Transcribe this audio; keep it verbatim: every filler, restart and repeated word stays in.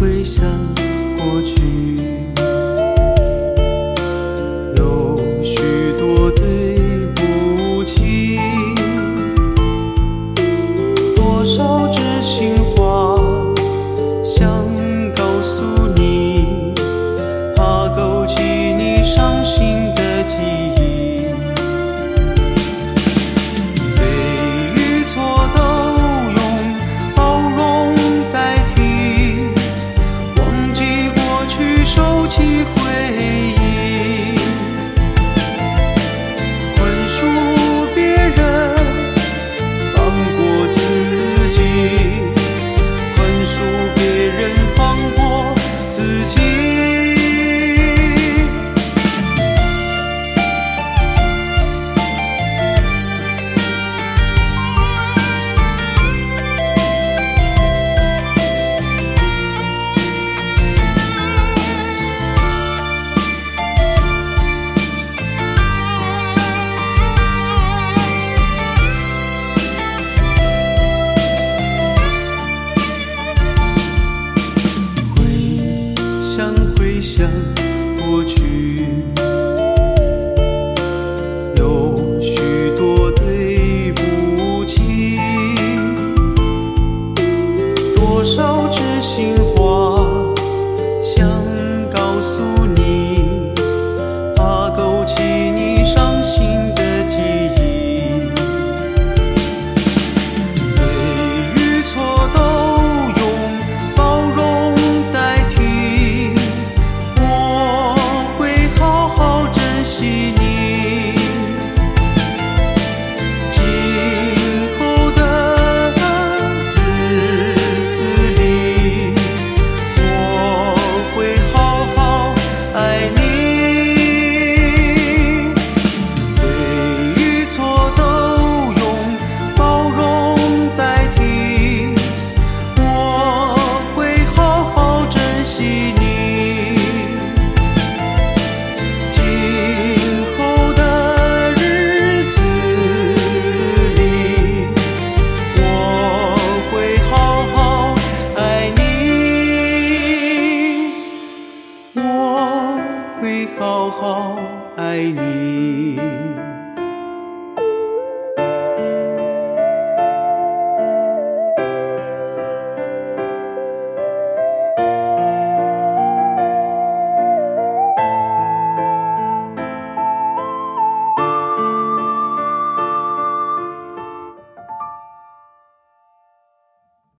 回想过去，有许多对不起，多少知心话想告诉你，怕勾起你伤心的记忆。对与错都用包容代替，忘记过去，收起回忆，宽恕别人，放过自己，宽恕别人，放过自己。回想过去，有许多对不起，多少知心话想告诉你，怕勾起你伤心的记忆。对与错都用包容代替，会好好爱你。